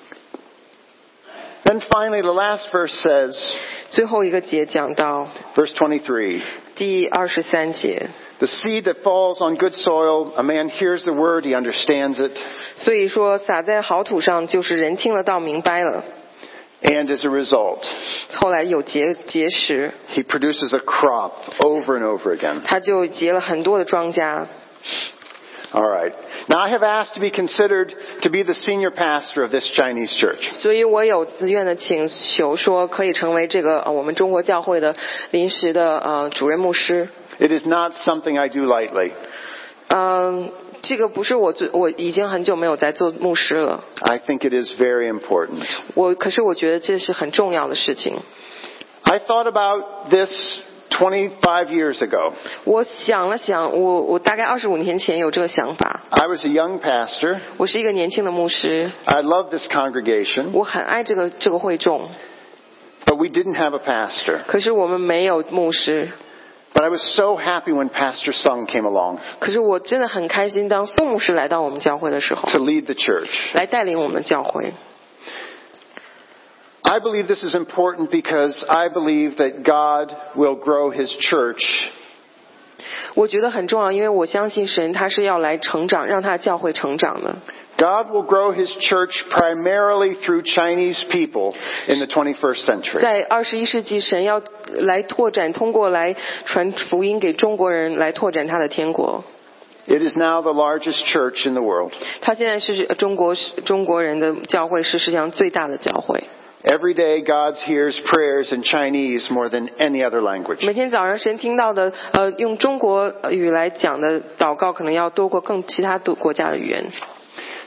Then finally, the last verse says, 最后一个节讲到 verse twenty-three, 第二十三节， the seed that falls on good soil, a man hears the word, he understands it, 所以说撒在好土上，就是人听了道明白了， and as a result, 后来有结结实， he produces a crop over and over again. 他就结了很多的庄稼。 All right. Now, I have asked to be considered to be the senior pastor of this Chinese church. 所以我有自愿的请求说，可以成为这个呃我们中国教会的临时的呃主任牧师。 It is not something I do lightly. 嗯、这个不是我最，我已经很久没有在做牧师了。 I think it is very important. 我可是我觉得这是很重要的事情。 I thought about this twenty-five years ago. 我想了想，我我大概二十五年前有这个想法。 I was a young pastor. 我是一个年轻的牧师， I love this congregation, 我很爱这个这个会众， but we didn't have a pastor. 可是我们没有牧师。 But I was so happy when Pastor Sung came along 可是我真的很开心，当宋牧师来到我们教会的时候， to lead the church. 来带领我们教会。 I believe this is important because I believe that God will grow His church 我觉得很重要，因为我相信神他是要来成长，让他的教会成长的。 God will grow His church primarily through Chinese people in the twenty-first century. 在二十一世纪，神要来拓展，通过来传福音给中国人，来拓展他的天国。 It is now the largest church in the world. 他现在是中国中国人的教会，是世界上最大的教会。 Every day God hears prayers in Chinese more than any other language. 每天早上神听到的，呃，用中国语来讲的祷告，可能要多过更其他国家的语言。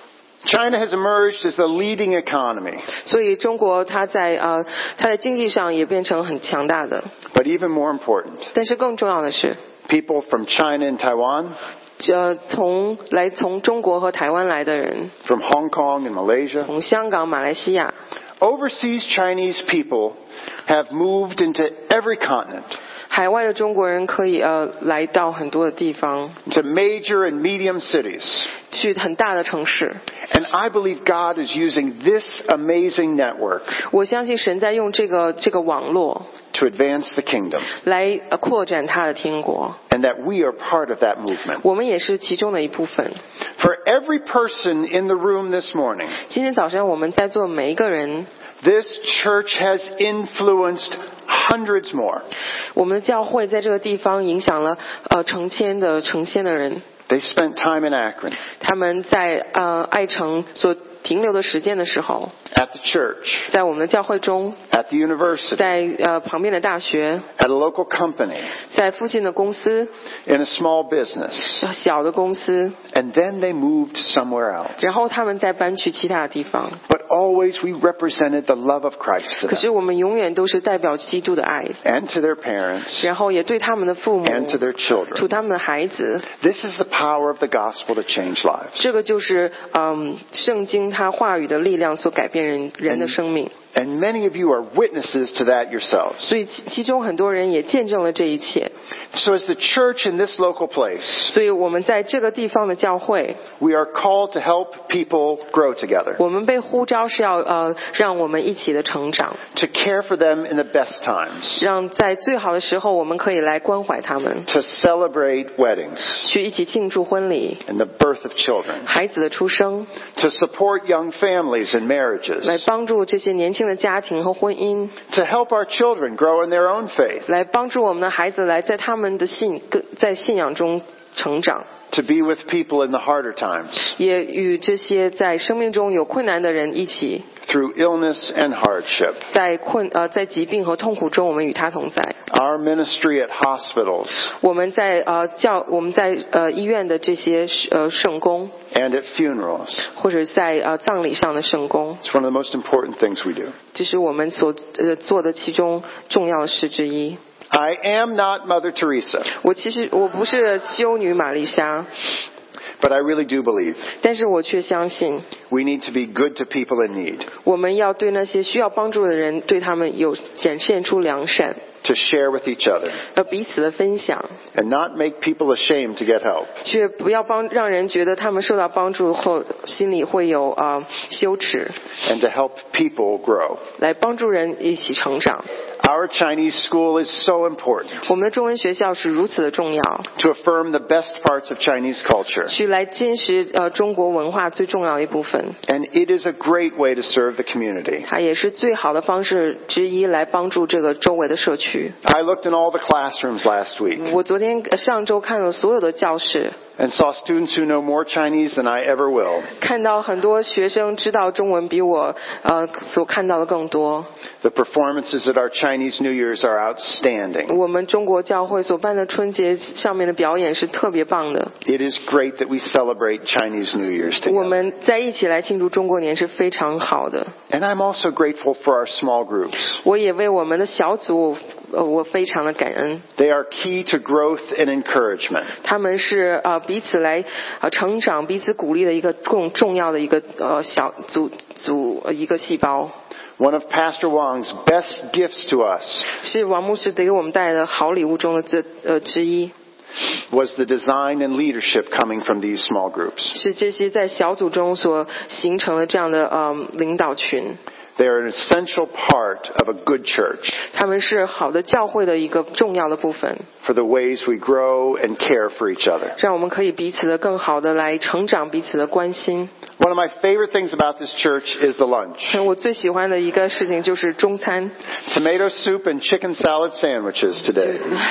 China has emerged as the leading economy. 所以中国它在呃它在经济上也变成很强大的。 But even more important, 但是更重要的是， people from China and Taiwan, 呃从来从中国和台湾来的人， from Hong Kong and Malaysia, 从香港、马来西亚， overseas Chinese people have moved into every continent, 海外的中国人可以呃来到很多的地方， to major and medium cities. 去很大的城市。 And I believe God is using this amazing network 我相信神在用这个这个网络 to advance the kingdom, 来呃扩展他的天国， and that we are part of that movement. 我们也是其中的一部分。 For every person in the room this morning, 今天早上我们在座每一个人， this church has influenced hundreds more. 我们的教会在这个地方影响了呃成千的成千的人。 They spent time in Akron, 他们在呃爱城所停留的时间的时候， at the church, 在我们的教会中， at the university, 在呃旁边的大学， at a local company, 在附近的公司， in a small business, 小的公司， and then they moved somewhere else. 然后他们再搬去其他的地方。 But always we represented the love of Christ to 可 them, 是我们永远都是代表基督的爱， and to their parents, 然后也对他们的父母， and to their 对 children. 他们的孩子。 This is the power of the gospel to change lives. 这个就是嗯圣经它话语的力量所改变人人的生命。 And many of you are witnesses to that yourselves. 所以其其中很多人也见证了这一切。 So as the church in this local place, 所以我们在这个地方的教会， we are called to help people grow together, 我们被呼召是要呃让我们一起的成长， to care for them in the best times, 让在最好的时候我们可以来关怀他们， to celebrate weddings 去一起庆祝婚礼、 and the birth of children, 孩子的出生， to support young families and marriages, 来帮助这些年轻的家庭和婚姻， to help our children grow in their own faith, 来帮助我们的孩子来在他们的信在信仰中成长， to be with people in the harder times, 也与这些在生命中有困难的人一起， through illness and hardship. 在困呃在疾病和痛苦中，我们与他同在。 Our ministry at hospitals 我们在呃教我们在呃医院的这些呃圣工， and at funerals. 或者在呃葬礼上的圣工， It's one of the most important things we do. 这是我们所呃做的其中重要的事之一。 I am not Mother Teresa, 我其实我不是修女玛丽莎， but I really do believe 但是我却相信， we need to be good to people in need, 我们要对那些需要帮助的人，对他们有展现出良善， to share with each other, 要彼此的分享， and not make people ashamed to get help. 却不要帮让人觉得他们受到帮助后心里会有啊、呃、羞耻， And to help people grow. 来帮助人一起成长。 Our Chinese school is so important 我们的中文学校是如此的重要， to affirm the best parts of Chinese culture. 去来坚实呃中国文化最重要的一部分。 And it is a great way to serve the community. 它也是最好的方式之一来帮助这个周围的社区。 I looked in all the classrooms last week 我昨天呃上周看了所有的教室， and saw students who know more Chinese than I ever will. 看到很多学生知道中文比我呃所看到的更多。 The performances at our Chinese New Year's are outstanding. 我们中国教会所办的春节上面的表演是特别棒的。 It is great that we celebrate Chinese New Year's 我 together. 们在一起来庆祝中国年是非常好的。 And I'm also grateful for our small groups. 我也为我们的小组呃我非常的感恩。 They are key to growth and encouragement. 他们是呃彼此来呃成长、彼此鼓励的一个重重要的一个呃小组组呃一个细胞。 One of Pastor Wang's best gifts to us 是王牧师给我们带来的好礼物中的这呃之一， was the design and leadership coming from these small groups. 是这些在小组中所形成的这样的呃领导群。 They are an essential part of a good church 他们是好的教会的一个重要的部分， for the ways we grow and care for each other. 让我们可以彼此的更好的来成长，彼此的关心。 One of my favorite things about this church is the lunch. 我最喜欢的一个事情就是中餐， Tomato soup and chicken salad sandwiches today.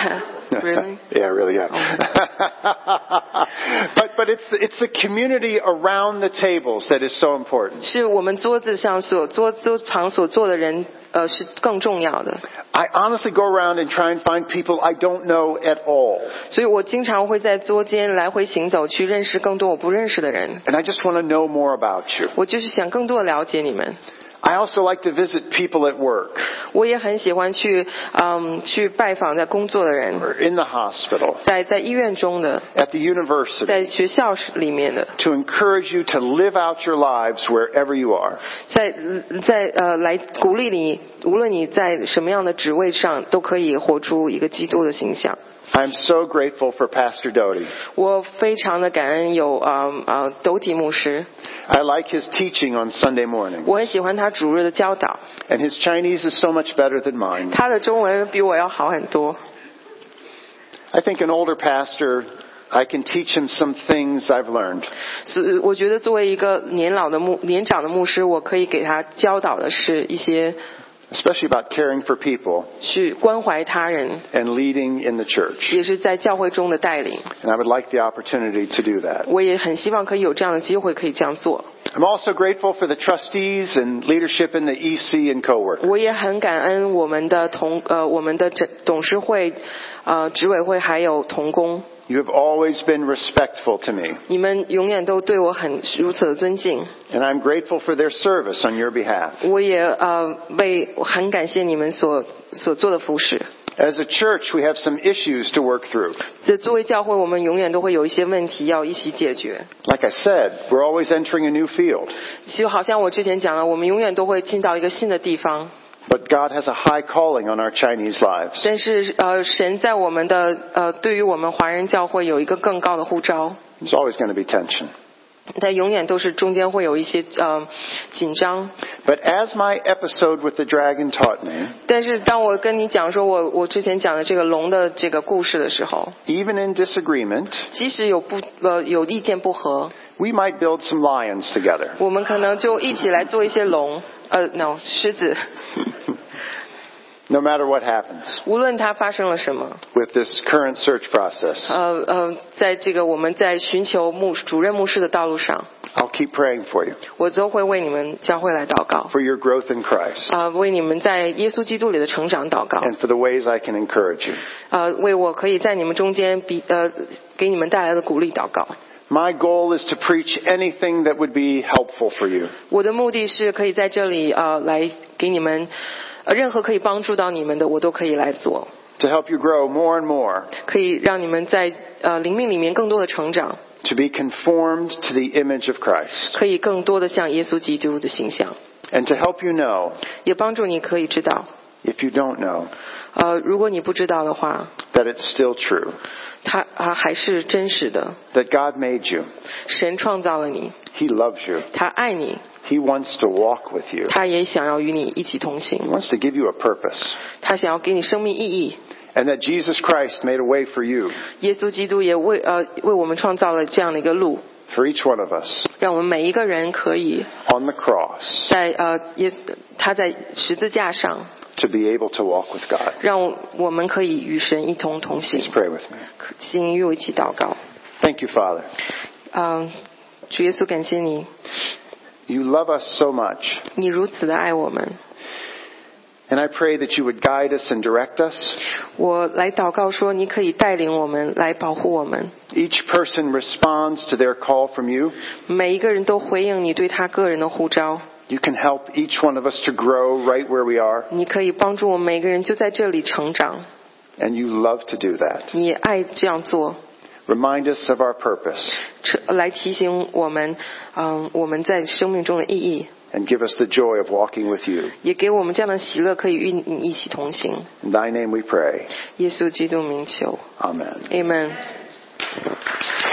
Really? Yeah, really, yeah. but but it's the, it's the community around the tables that is so important. 是我们桌子上所桌桌旁所坐的人，呃，是更重要的。 I honestly go around and try and find people I don't know at all. 所以我经常会在桌间来回行走，去认识更多我不认识的人。 And I just want to know more about you. 我就是想更多的了解你们。 I also like to visit people at work 我也很喜欢去，嗯，去拜访在工作的人， or in the hospital, 在在医院中的， at the university, 在学校里面的， to encourage you to live out your lives wherever you are. 在在呃来鼓励你，无论你在什么样的职位上，都可以活出一个基督的形象。 I'm so grateful for Pastor Doty. 我非常的感恩有呃呃斗体牧师， I like his teaching on Sunday morning. 我很喜欢他主日的教导， And his Chinese is so much better than mine. 他的中文比我要好很多。 I think an older pastor, I can teach him some things I've learned. 所以我觉得作为一个年老的牧年长的牧师，我可以给他教导的是一些 Especially about caring for people 去关怀他人， and leading in the church. 也是在教会中的带领。 And I would like the opportunity to do that. 我也很希望可以有这样的机会可以这样做。 I'm also grateful for the trustees and leadership in the E C and co-work. 我也很感恩我们的同呃我们的整董事会、呃执委会还有同工， You have always been respectful to me. 你们永远都对我很如此的尊敬。 And I'm grateful for their service on your behalf. 我也呃为很感谢你们所所做的服侍。 As a church, we have some issues to work through. 这作为教会，我们永远都会有一些问题要一起解决。 Like I said, we're always entering a new field. 就好像我之前讲了，我们永远都会进到一个新的地方。 But God has a high calling on our Chinese lives. 但是呃，神在我们的呃，对于我们华人教会有一个更高的呼召。 There's always going to be tension. 但永远都是中间会有一些呃紧张。 But as my episode with the dragon taught me, 但是当我跟你讲说我我之前讲的这个龙的这个故事的时候， even in disagreement, 即使有不呃有意见不合， we might build some lions together. 我们可能就一起来做一些龙，呃，no 狮子。 No matter what happens 无论它发生了什么， with this current search process, 呃呃，在这个我们在寻求牧主任牧师的道路上， I'll keep praying for you, 我都会为你们教会来祷告， for your growth in Christ, 呃，为你们在耶稣基督里的成长祷告， and for the ways I can encourage you. 呃，为我可以在你们中间比呃给你们带来的鼓励祷告。 My goal is to preach anything that would be helpful for you. 我的目的是可以在这里呃来给你们，呃任何可以帮助到你们的，我都可以来做， To help you grow more and more, 可以让你们在呃灵命里面更多的成长， to be conformed to the image of Christ, 可以更多的像耶稣基督的形象， and to help you know, 也帮助你可以知道， if you don't know, 呃如果你不知道的话， that it's still true, 它啊还是真实的。 that God made you, 神创造了你， He loves you, 他爱你， He wants to walk with you, 他也想要与你一起同 He 行， wants to give you a purpose, 他想要给你生命意义。 and that Jesus Christ made a way for you, 耶稣基督也为呃为我们创造了这样的一个路， for each one of us, 让我们每一个人可以 on the cross, 在呃耶稣他在十字架上， to be able to walk with God. 让我们可以与神一同同行 Please。pray with me. 请与我一起祷告。 Thank you, Father. 嗯、主耶稣，感谢你， You love us so much, 你如此的爱我们。 and I pray that you would guide us and direct us. 我来祷告说，你可以带领我们，来保护我们。 Each person responds to their call from you. 每一个人都回应你对他个人的呼召。 You can help each one of us to grow right where we are, 你可以帮助我们每个人就在这里成长， and you love to do that. 你也爱这样做， Remind us of our purpose, 来提醒我们，嗯，我们在生命中的意义， and give us the joy of walking with you. 也给我们这样的喜乐，可以与你一起同行。 In thy name we pray. 耶稣基督名求 Amen. ，Amen。